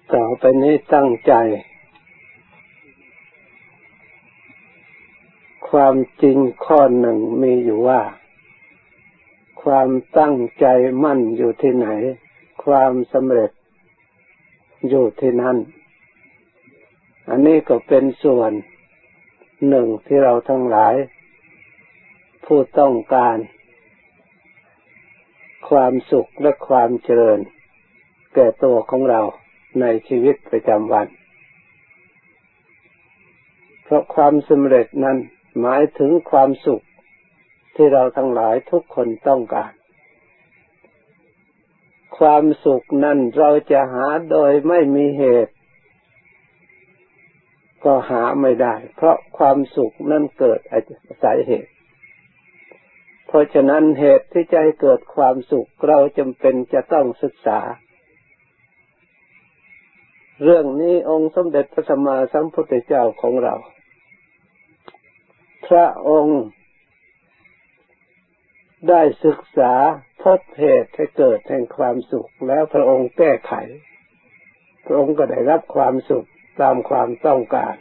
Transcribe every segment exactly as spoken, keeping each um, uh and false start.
ต่อไปนี้ตั้งใจความจริงข้อหนึ่งมีอยู่ว่าความตั้งใจมั่นอยู่ที่ไหนความสำเร็จอยู่ที่นั่นอันนี้ก็เป็นส่วนหนึ่งที่เราทั้งหลายผู้ต้องการความสุขและความเจริญแก่ตัวของเราในชีวิตประจำวันเพราะความสำเร็จนั้นหมายถึงความสุขที่เราทั้งหลายทุกคนต้องการความสุขนั้นเราจะหาโดยไม่มีเหตุก็หาไม่ได้เพราะความสุขนั้นเกิดอาศัยเหตุเพราะฉะนั้นเหตุที่จะให้เกิดความสุขเราจำเป็นจะต้องศึกษาเรื่องนี้องค์สมเด็จพระสัมมาสัมพุทธเจ้าของเราพระองค์ได้ศึกษาพบเหตุให้เกิดแห่งความสุขแล้วพระองค์แก้ไขพระองค์ก็ได้รับความสุขตามความต้องการ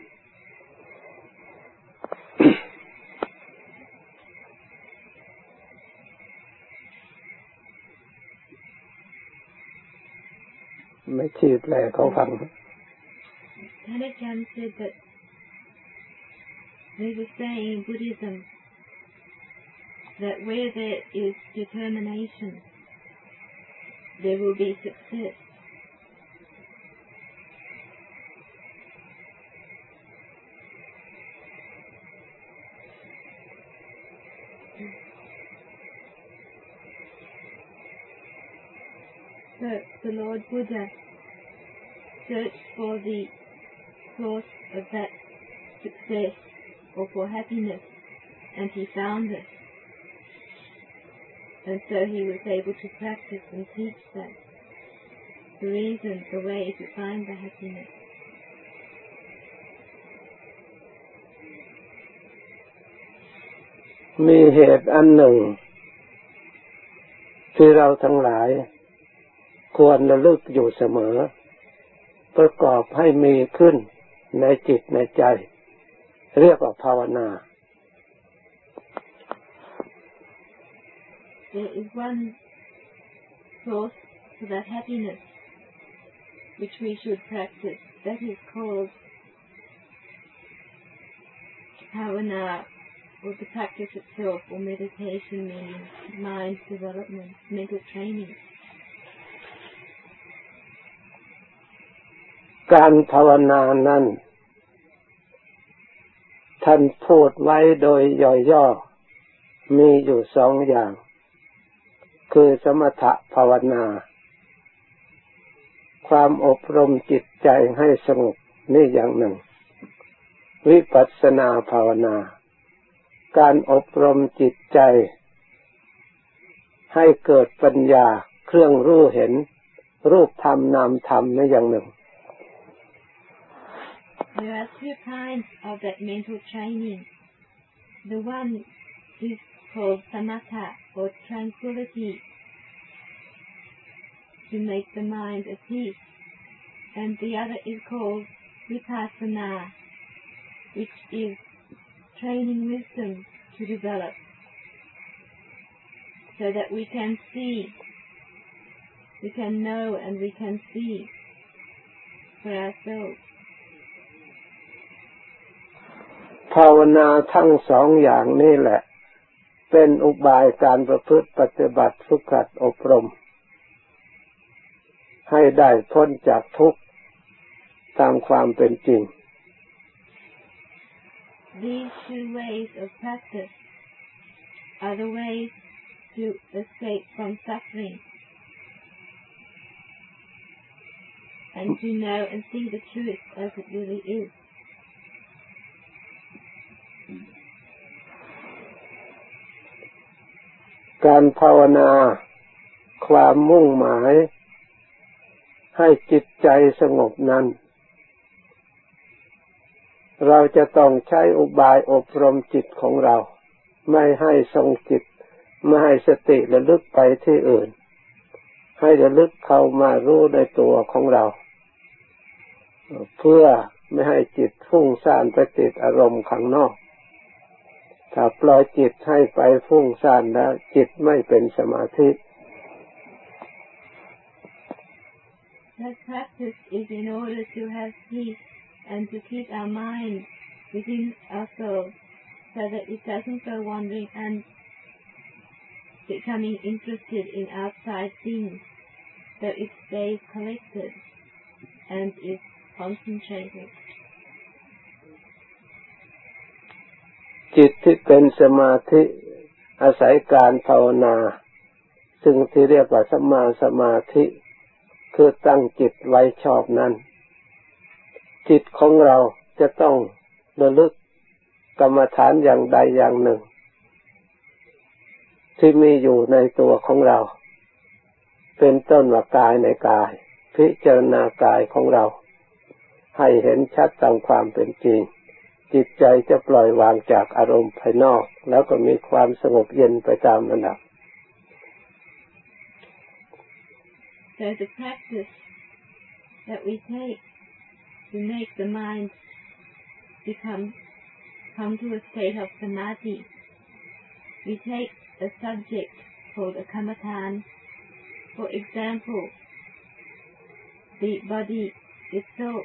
ไม่ชีพแลเขาฟังท่านอาจารย์ said that there is a saying in Buddhism that where there is determination there will be success. So the Lord Buddha searched for the source of that success or for happiness, and he found it. And so he was able to practice and teach that the reason, the way to find the happiness. มีเหตุอันหนึ่งที่เราทั้งหลายควรระลึกอยู่เสมอประกอบให้มีขึ้นในจิตในใจเรียกว่าภาวนา There is one source for that happiness which we should practice. That is called bhavana, or the practice itself, or meditation, meaning mind development, mental training. การภาวนานั้นท่านพูดไว้โดยย่อๆมีอยู่สองอย่างคือสมถภาวนาความอบรมจิตใจให้สงบนี่อย่างหนึ่งวิปัสสนาภาวนาการอบรมจิตใจให้เกิดปัญญาเครื่องรู้เห็นรูปธรรมนามธรรมนี่อย่างหนึ่ง There are two kinds of that mental training. The one is called samatha, or tranquility, to make the mind at peace, and the other is called vipassana, which is training wisdom to develop, so that we can see, we can know and we can see for ourselves. ภาวนาทั้งสองอย่างนี่แหละเป็นอุบายการประพฤติปฏิบัติฝึกหัดอบรมให้ได้พ้นจากทุกข์ตามความเป็นจริง These two ways of practice are the ways to escape from suffering and to know and see the truth as it really is. การภาวนาความมุ่งหมายให้จิตใจสงบนั้นเราจะต้องใช้อุบายอบรมจิตของเราไม่ให้ทรงจิตไม่ให้สติระลึกไปที่อื่นให้ระลึกเข้ามารู้ในตัวของเราเพื่อไม่ให้จิตฟุ้งซ่านไปติดอารมณ์ข้างนอกถ้าปล่อยจิตให้ไปฟุ้งซ่านแล้วจิตไม่เป็นสมาธิ That practice is in order to have peace and to keep our mind within ourselves so that it doesn't go wandering and becoming interested in outside things, so it stays collected and is concentrated. จิตที่เป็นสมาธิอาศัยการภาวนาซึ่งที่เรียกว่าสัมมาสมาธิคือตั้งจิตไว้ชอบนั้นจิตของเราจะต้องระลึกกรรมฐานอย่างใดอย่างหนึ่งที่มีอยู่ในตัวของเราเป็นต้นว่ากายในกายพิจารณากายของเราให้เห็นชัดตามความเป็นจริงจิตใจจะปล่อยวางจากอารมณ์ภายนอกแล้วก็มีความสงบเย็นไปตามลำดับ So the practice that we take to make the mind become come to a state of samadhi, we take a subject called a kamatan. For example, the body itself.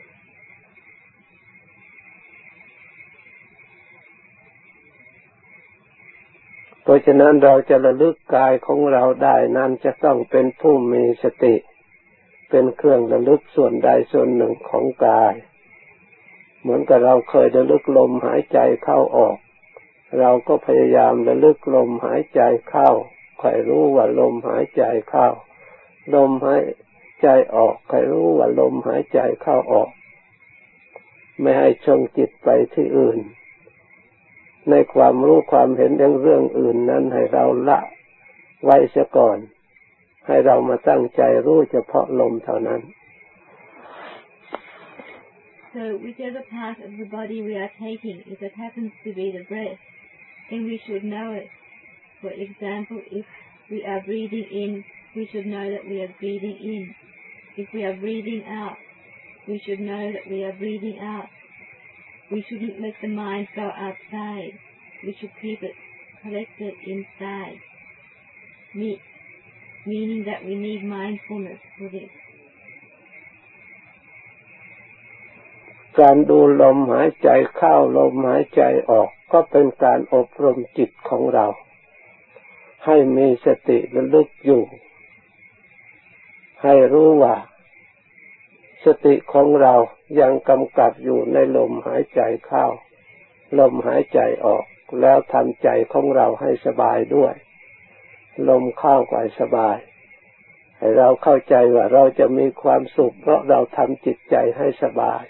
เพราะฉะนั้นเราจะระลึกกายของเราได้นั้นจะต้องเป็นผู้มีสติเป็นเครื่องระลึกส่วนใดส่วนหนึ่งของกายเหมือนกับเราเคยระลึกลมหายใจเข้าออกเราก็พยายามระลึกลมหายใจเข้าคอยรู้ว่าลมหายใจเข้าลมหายใจออกคอยรู้ว่าลมหายใจเข้าออกไม่ให้ชงจิตไปที่อื่นในความรู้ความเห็นเรื่องเรื่องอื่นนั้นให้เราละไว้เสียก่อนให้เรามาตั้งใจรู้เฉพาะลมเท่านั้น So whichever part of the body we are taking, if it happens to be the breath, then we should know it. For example, if we are breathing in, we should know that we are breathing in. If we are breathing out, we should know that we are breathing out. We shouldn't let the mind go outside. We should keep it collected inside. Me- meaning that we need mindfulness for this. การดูลมหายใจเข้าลมหายใจออกก็เป็นการอบรมจิตของเราให้มีสติระลึกอยู่ให้รู้ว่าสติของเรายังกำกับอยู่ในลมหายใจเข้าลมหายใจออกแล้วทำใจของเราให้สบายด้วยลมเข้าก็สบายให้เราเข้าใจว่าเราจะมีความสุขเพราะเราทำจิตใจให้สบาย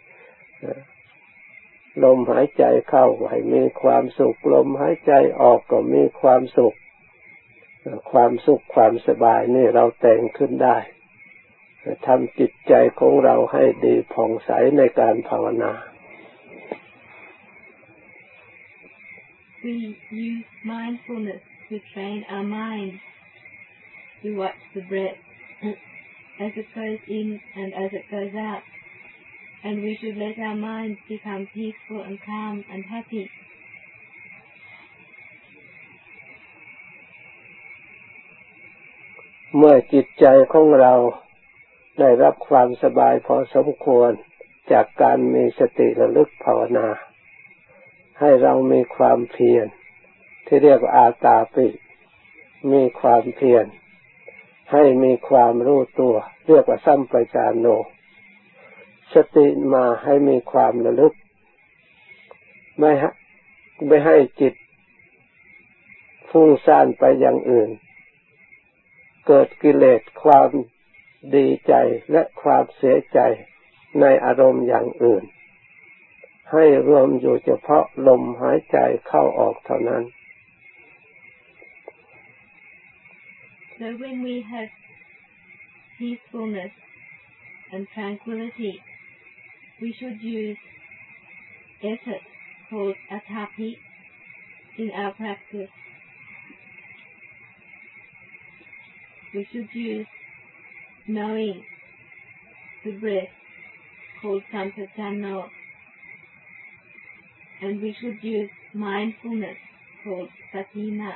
ลมหายใจเข้าให้มีความสุขลมหายใจออกก็มีความสุขความสุขความสบายนี่เราแต่งขึ้นได้ทำจิตใจของเราให้ดีผ่องใสในการภาวนา We use mindfulness to train our mind to watch the breath as it goes in and as it goes out. And we should let our mind become peaceful and calm and happy. เมื่อจิตใจของเราได้รับความสบายพอสมควรจากการมีสติระลึกภาวนาให้เรามีความเพียรที่เรียกว่าอาตาปิมีความเพียรให้มีความรู้ตัวเรียกว่าสัมปชัญญะสติมาให้มีความระลึกไม่ให้ไม่ให้จิตฟุ้งซ่านไปอย่างอื่นเกิดกิเลสความดีใจและความเสียใจในอารมณ์อย่างอื่นให้รวมอยู่เฉพาะลมหายใจเข้าออกเท่านั้น So when we have peacefulness and tranquility, we should use effort called atapi in our practice. We should use knowing the breath called sampajano, and we should use mindfulness called satina.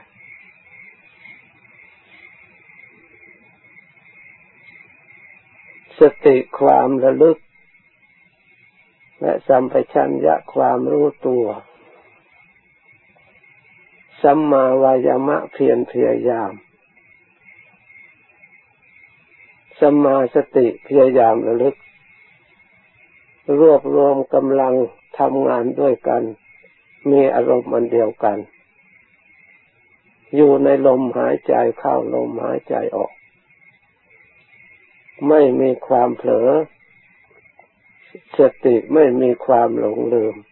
สติความระลึกและสัมปชัญญะความรู้ตัวสัมมาวายามะเพียรพยายามสัมมาสติพยายามระลึกรวบรวมกำลังทำงานด้วยกันมีอารมณ์อันเดียวกันอยู่ในลมหายใจเข้าลมหายใจออกไม่มีความเผลอสติไม่มีความหลงลืม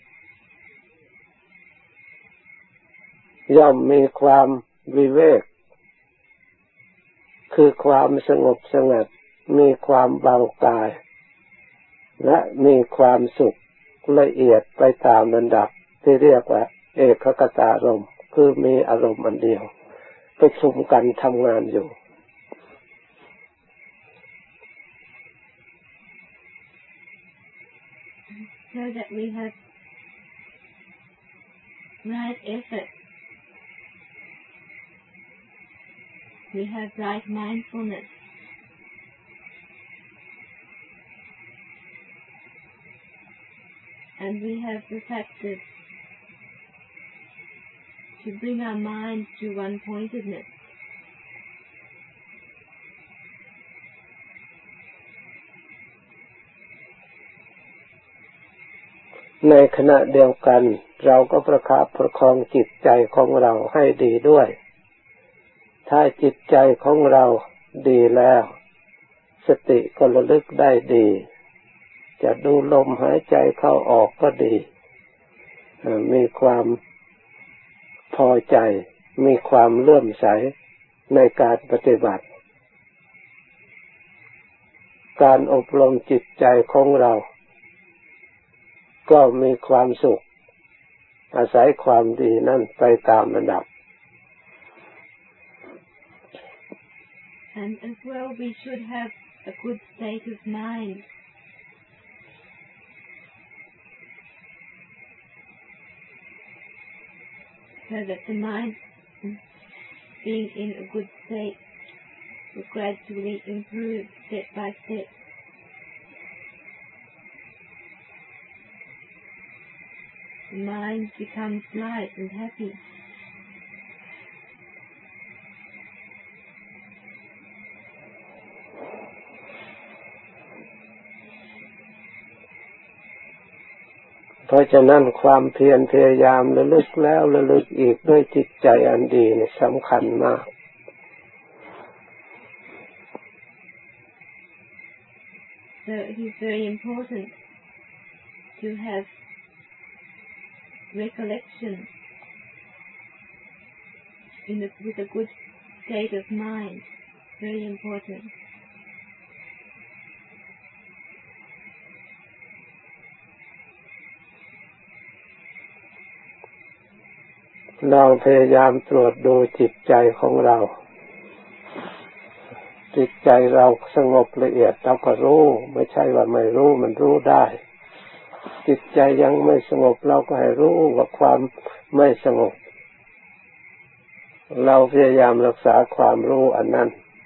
ย่อมมีความวิเวกคือความสงบสงัดมีความเบากายและมีความสุขละเอียดไปตามลำดับที่เรียกว่าเอกคตารมณ์คือมีอารมณ์อันเดียวประชุมกันทำงานอยู่ So that we have right effort, we have right mindfulness, and we have the factors to bring our mind to one-pointedness. ในขณะเดียวกันเราก็ประคับประคองจิตใจของเราให้ดีด้วยถ้าจิตใจของเราดีแล้วสติก็ระลึกได้ดีจะดูลมหายใจเข้าออกก็ดีมีความพอใจมีความเลื่อมใสในการปฏิบัติการอบรมจิตใจของเราก็มีความสุขอาศัยความดีนั่นไปตามระดับ And as well we should have a good state of mind so that the mind being in a good state will gradually improve step by step. The mind becomes light and happy. เพราะฉะนั้นความเพียรพยายามระลึกแล้วระลึกอีกด้วยจิตใจอันดีนี่สำคัญมาก So it is very important to have recollection in a, with a good state of mind. Very important. เราพยายามตรวจดูจิตใจของเราจิตใจเราสงบละเอียดเราก็รู้ไม่ใช่ว่าไม่รู้มันรู้ได้จิตใจยังไม่สงบเราก็ให้รู้ว่าความไม่สงบเราพยายามรักษาความรู้อันนั้น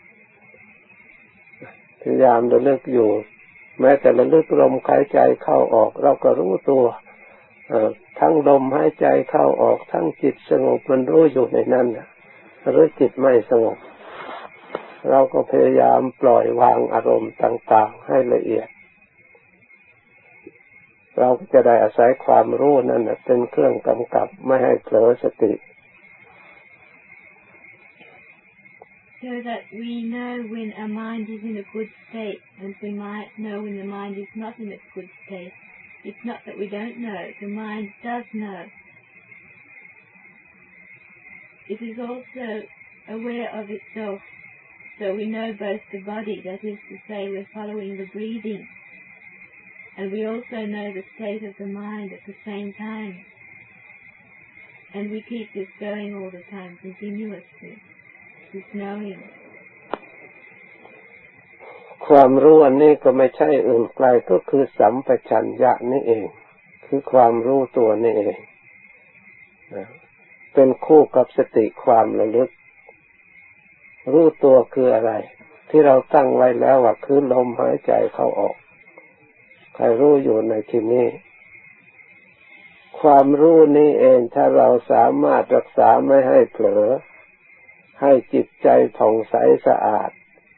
พยายามระลึกอยู่แม้แต่ระลึกลมหายใจเข้าออกเราก็รู้ตัวทั้งลมหายใจเข้าออกทั้งจิตสงบมันรู้อยู่ในนั้นหรือจิตไม่สงบเราก็พยายามปล่อยวางอารมณ์ต่างๆให้ละเอียดเราจะได้อาศัยความรู้นั่นเป็นเครื่องกำกับไม่ให้เผลอสติ So that we know when our mind is in a good state and we might know when the mind is not in a good state. It's not that we don't know, the mind does know. It is also aware of itself, so we know both the body, that is to say we're following the breathing, and we also know the state of the mind at the same time. And we keep this going all the time, continuously, this knowing. ความรู้อันนี้ก็ไม่ใช่อื่นไกลก็คือสัมปชัญญะนี่เองคือความรู้ตัวนี่เองเป็นคู่กับสติความระลึกรู้ตัวคืออะไรที่เราตั้งไว้แล้วว่าคือลมหายใจเข้าออกใครรู้อยู่ในที่นี้ความรู้นี้เองถ้าเราสามารถรักษาไม่ให้เผลอให้จิตใจผ่องใสสะอาด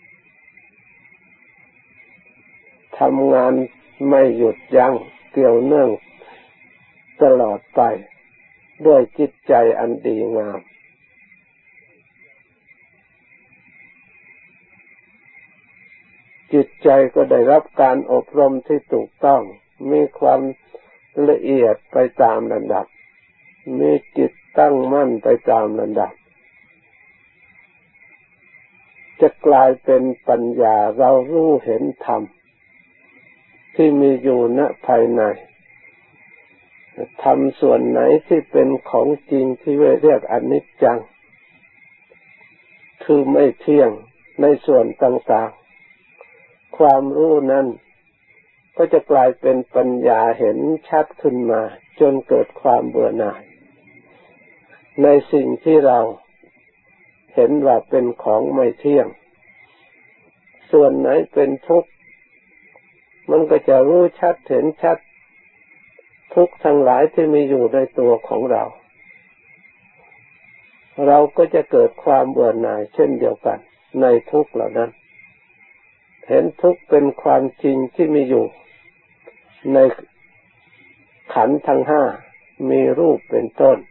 ทำงานไม่หยุดยั้งเกี่ยวเนื่องตลอดไปด้วยจิตใจอันดีงามจิตใจก็ได้รับการอบรมที่ถูกต้องมีความละเอียดไปตามลำดับมีจิตตั้งมั่นไปตามลำดับจะกลายเป็นปัญญาเรารู้เห็นธรรมที่มีอยู่ณภายในธรรมส่วนไหนที่เป็นของจริงที่เรียกอนิจจังคือไม่เที่ยงในส่วนต่างๆความรู้นั้นก็จะกลายเป็นปัญญาเห็นชัดขึ้นมาจนเกิดความเบื่อหน่ายในสิ่งที่เราเห็นว่าเป็นของไม่เที่ยงส่วนไหนเป็นทุกข์มันก็จะรู้ชัดเห็นชัดทุกข์ทั้งหลายที่มีอยู่ในตัวของเราเราก็จะเกิดความเบื่อหน่ายเช่นเดียวกันในทุกข์เหล่านั้นเห็นทุกข์เป็นความจริงที่มีอยู่ในขันธ์ทั้งห้ามีรูปเป็นต้น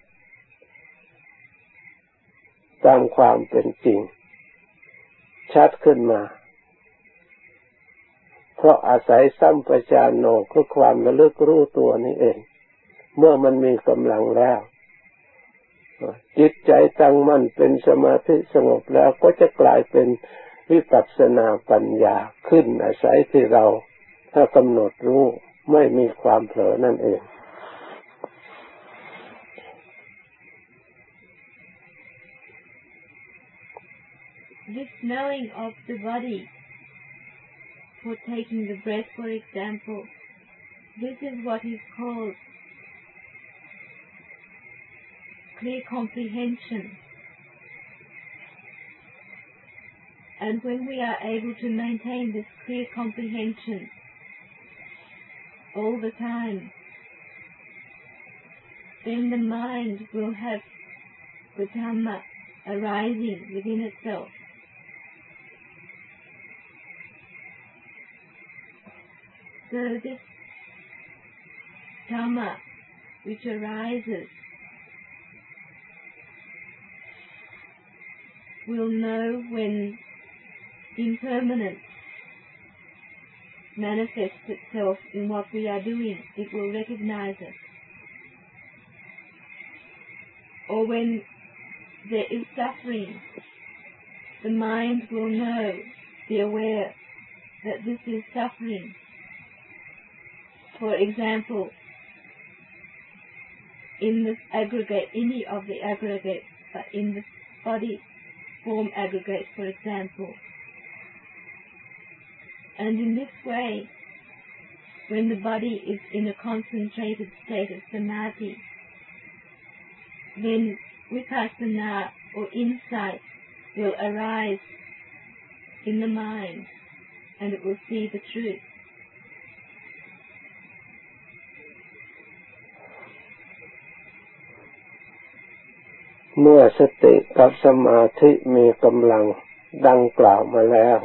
ตามความเป็นจริงชัดขึ้นมาเพราะอาศัยสัมปชัญญะคือความระลึกรู้ตัวนี้เองเมื่อมันมีกำลังแล้วจิตใจตั้งมั่นเป็นสมาธิสงบแล้วก็จะกลายเป็นวิปัสสนาปัญญาขึ้นอาศัยที่เราถ้ากำหนดรู้ไม่มีความเผลอนั่นเอง This knowing of the body, for taking the breath for example, this is what is called clear comprehension. And when we are able to maintain this clear comprehension all the time, then the mind will have the Dhamma arising within itself. So this Dhamma which arises will know when impermanence manifests itself in what we are doing. It will recognize it. Or when there is suffering, the mind will know, be aware that this is suffering. For example, in this aggregate, any of the aggregates, but in the body form aggregate, for example. And in this way, when the body is in a concentrated state of samadhi, then vipassana or insight will arise in the mind and it will see the truth. เมื่อสติกับสมาธิมีกำลังดังกล่าวมาแล้ว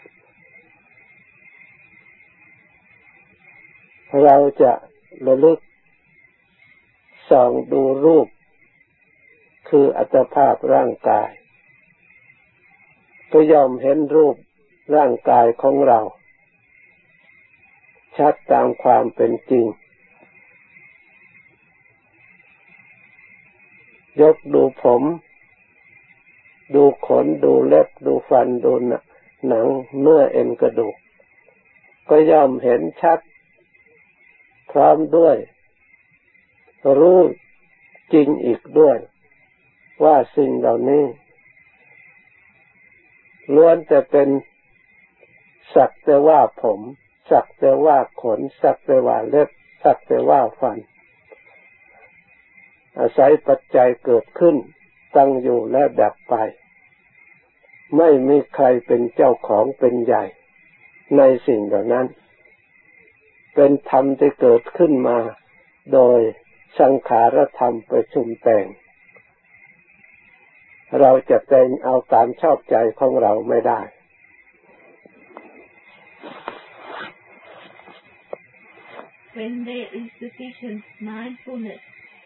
เราจะระลึกส่องดูรูปคืออัตภาพร่างกายก็ย่อมเห็นรูปร่างกายของเราชัดตามความเป็นจริงยกดูผมดูขนดูเล็บดูฟันดูหนังเนื้อเอ็นกระดูกก็ย่อมเห็นชัดพร้อมด้วยรู้จริงอีกด้วยว่าสิ่งเหล่านี้ล้วนแต่เป็นสักแต่ว่าผมสักแต่ว่าขนสักแต่ว่าเล็บสักแต่ว่าฟันอาศัยปัจจัยเกิดขึ้นตั้งอยู่และดับไปไม่มีใครเป็นเจ้าของเป็นใหญ่ในสิ่งเหล่านั้นเป็นธรรมที่เกิดขึ้นมาโดยสังขารธรรมประชุมแต่งเราจะแต่งเอาตามชอบใจของเราไม่ได้ When there is sufficient mindfulness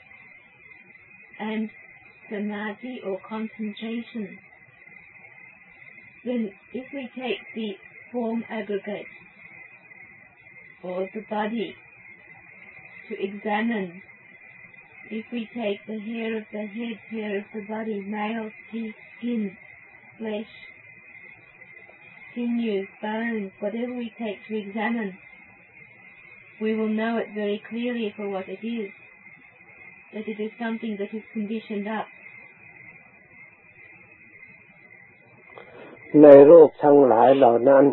and samadhi or concentration, then if we take the form aggregate or the body to examine, if we take the hair of the head, hair of the body, nails, teeth, skin, flesh, sinews, bones, whatever we take to examine, we will know it very clearly for what it is, that it is something that is conditioned up. ในรูปทั้งหลายเหล่านั้น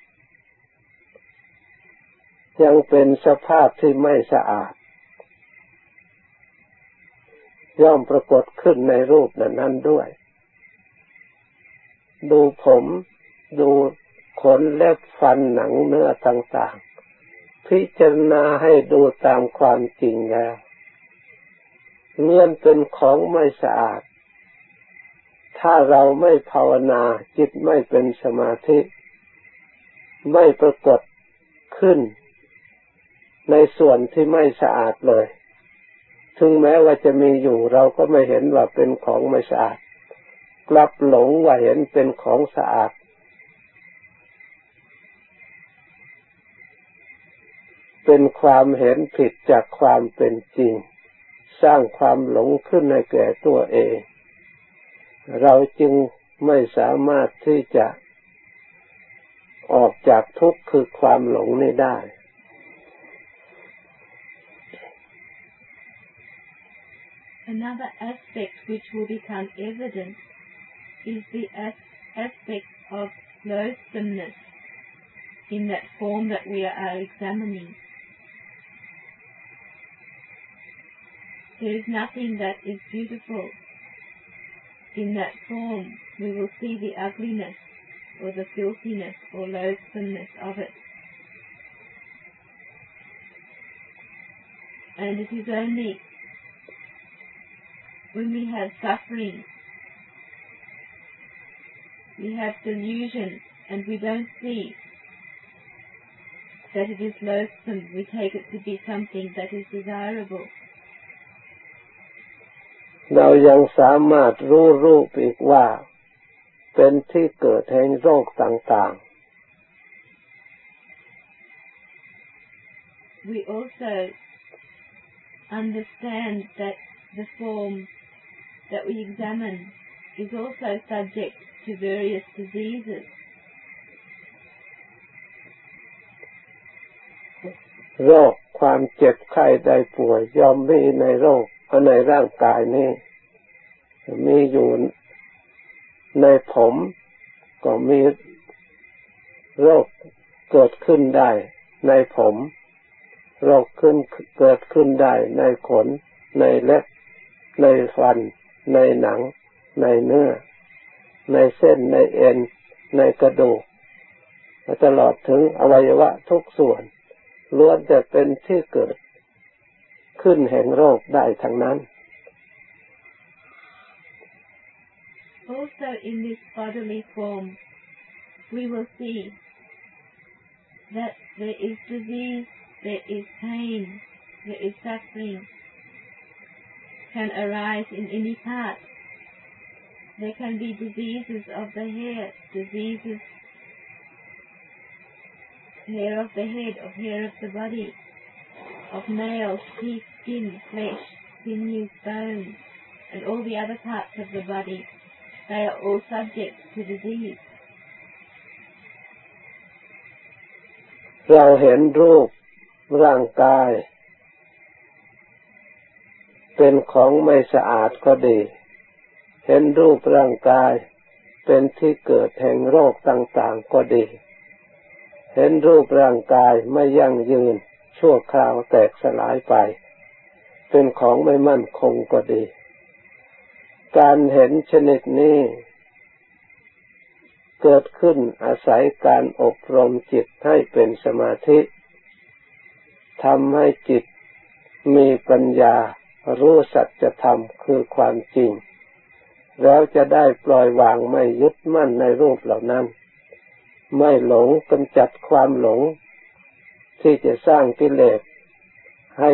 ยังเป็นสภาพที่ไม่สะอาดย่อมปรากฏขึ้นในรูปนั้นด้วยดูผมดูขนเล็บฟันหนังเนื้อต่างๆพิจารณาให้ดูตามความจริงแล้วเลื่อนเป็นของไม่สะอาดถ้าเราไม่ภาวนาจิตไม่เป็นสมาธิไม่ปรากฏขึ้นในส่วนที่ไม่สะอาดเลยถึงแม้ว่าจะมีอยู่เราก็ไม่เห็นว่าเป็นของไม่สะอาดกลับหลงว่าเห็นเป็นของสะอาดเป็นความเห็นผิดจากความเป็นจริงสร้างความหลงขึ้นในแก่ตัวเองเราจึงไม่สามารถที่จะออกจากทุกข์คือความหลงนี้ได้ Another aspect which will become evident is the as- aspect of loathsomeness in that form that we are examining. There is nothing that is beautiful in that form. We will see the ugliness or the filthiness or loathsomeness of it. And it is only when we have suffering, we have delusion, and we don't see that it is loathsome, we take it to be something that is desirable. เรายังสามารถรู้รูปอีกว่าเป็นที่เกิดแห่งโรคต่างๆ We also understand that the form that we examine is also subject to various diseases. โรคความเจ็บไข้ได้ป่วยย่อมมีในโรคในร่างกายนี้มีอยู่ในผมก็มีโรคเกิดขึ้นได้ในผมโรคขึ้นเกิดขึ้นได้ในขนในเล็บในฟันในหนังในเนื้อในเส้นในเอ็นในกระดูกตลอดถึงอวัยวะทุกส่วนล้วนจะเป็นที่เกิดขึ้นแห่งโรคได้ทั้งนั้น Also in this bodily form we will see that there is disease, there is pain, there is suffering can arise in any part. There can be diseases of the hair, diseases hair of the head, of hair of the body, of nails, teeth, skin, flesh, sinews, bones, and all the other parts of the body. They are all subject to disease. เราเห็นรูปร่างกายเป็นของไม่สะอาดก็ดีเห็นรูปร่างกายเป็นที่เกิดแห่งโรคต่างๆก็ดีเห็นรูปร่างกายไม่ยั่งยืนชั่วคราวแตกสลายไปเป็นของไม่มั่นคงก็ดีการเห็นชนิดนี้เกิดขึ้นอาศัยการอบรมจิตให้เป็นสมาธิทำให้จิตมีปัญญารู้สัจธรรมคือความจริงแล้วจะได้ปล่อยวางไม่ยึดมั่นในรูปเหล่านั้นไม่หลงกำจัดความหลงที่จะสร้างกิเลสให้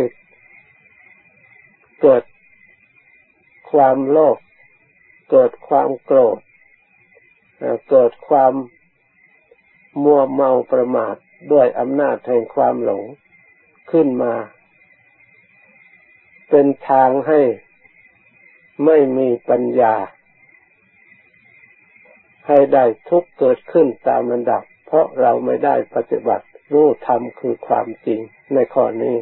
เกิดความโลภเกิดความโกรธเกิดความมัวเมาประมาทด้วยอำนาจแห่งความหลงขึ้นมาเป็นทางให้ไม่มีปัญญาให้ได้ทุกข์เกิดขึ้นตามลำดับเพราะเราไม่ได้ปฏิบัติรู้ธรรมคือความจริงในข้อนี้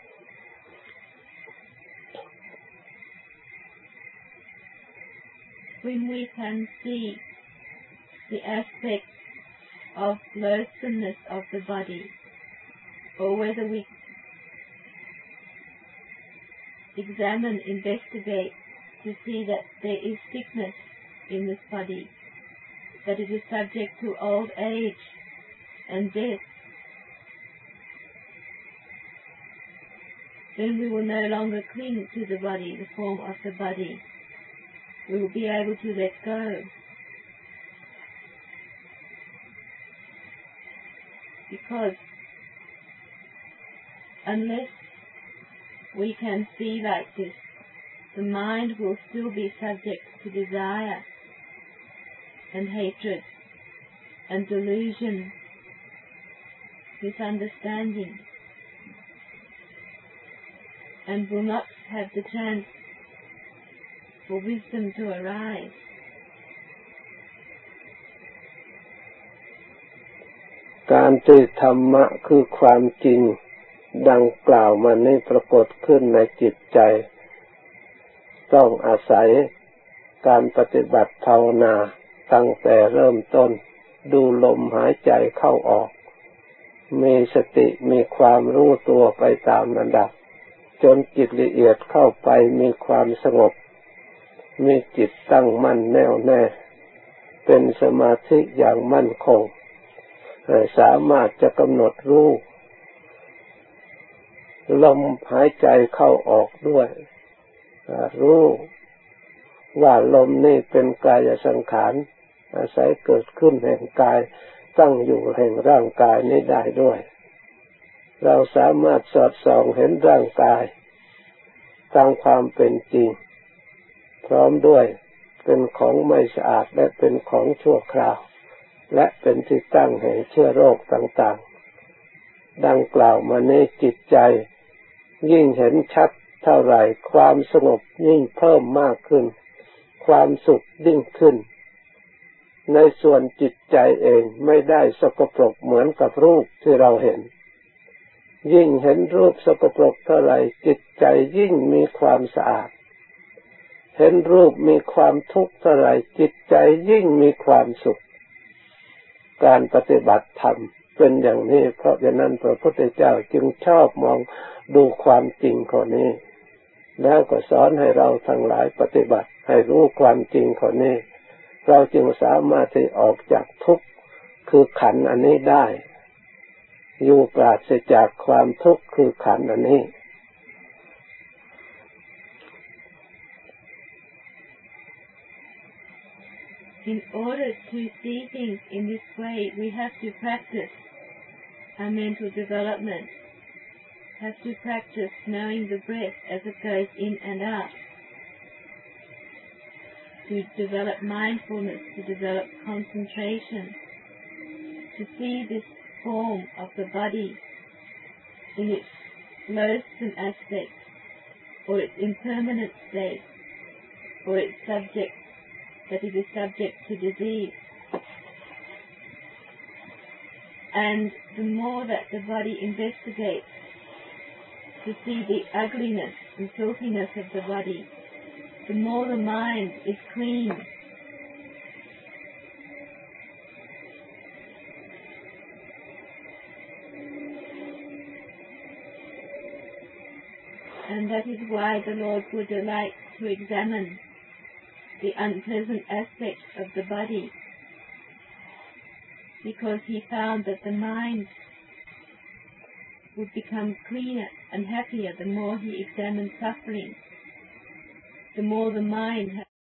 When we can see the aspect of loathsomeness of the body, or whether we examine, investigate to see that there is sickness in this body, that it is subject to old age and death, then we will no longer cling to the body, the form of the body. We will be able to let go. Because unless we can see like this, the mind will still be subject to desire and hatred and delusion, misunderstanding, and will not have the chance for wisdom to arise. การที่ธรรมะคือความจริงดังกล่าวมานี้ปรากฏขึ้นในจิตใจต้องอาศัยการปฏิบัติภาวนาตั้งแต่เริ่มต้นดูลมหายใจเข้าออกมีสติมีความรู้ตัวไปตามลำดับจนจิตละเอียดเข้าไปมีความสงบมีจิตตั้งมั่นแน่วแน่เป็นสมาธิอย่างมั่นคงสามารถจะกำหนดรู้ลมหายใจเข้าออกด้วยรู้ว่าลมนี่เป็นกายสังขารอาศัยเกิดขึ้นแห่งกายตั้งอยู่แห่งร่างกายนี้ได้ด้วยเราสามารถสอดส่องเห็นร่างกายตามความเป็นจริงพร้อมด้วยเป็นของไม่สะอาดและเป็นของชั่วคราวและเป็นที่ตั้งแห่งเชื้อโรคต่างๆดังกล่าวมานี้จิตใจยิ่งเห็นชัดเท่าไหร่ความสงบยิ่งเพิ่มมากขึ้นความสุขยิ่งขึ้นในส่วนจิตใจเองไม่ได้สกปรกเหมือนกับรูปที่เราเห็นยิ่งเห็นรูปสกปรกเท่าไหร่จิตใจยิ่งมีความสะอาดเห็นรูปมีความทุกข์เท่าไหร่จิตใจยิ่งมีความสุขการปฏิบัติธรรมเป็นอย่างนี้เพราะฉะนั้นพระพุทธเจ้าจึงชอบมองดูความจริงข้อนี้แล้วก็สอนให้เราทั้งหลายปฏิบัติให้รู้ความจริงข้อนี้เราจึงสามารถที่ออกจากทุกข์คือขันธ์อันนี้ได้อยู่ปราศจากความทุกข์คือขันธ์อันนี้ In order to see things in this way, we have to practice our mental development, have to practice knowing the breath as it goes in and out, to develop mindfulness, to develop concentration, to see this form of the body in its loathsome aspect, or its impermanent state, or its subject that it is subject to disease. And the more that the body investigates to see the ugliness and filthiness of the body, the more the mind is clean. And that is why the Lord Buddha liked to examine the unpleasant aspects of the body, because he found that the mind would become cleaner and happier the more he examined suffering, the more the mind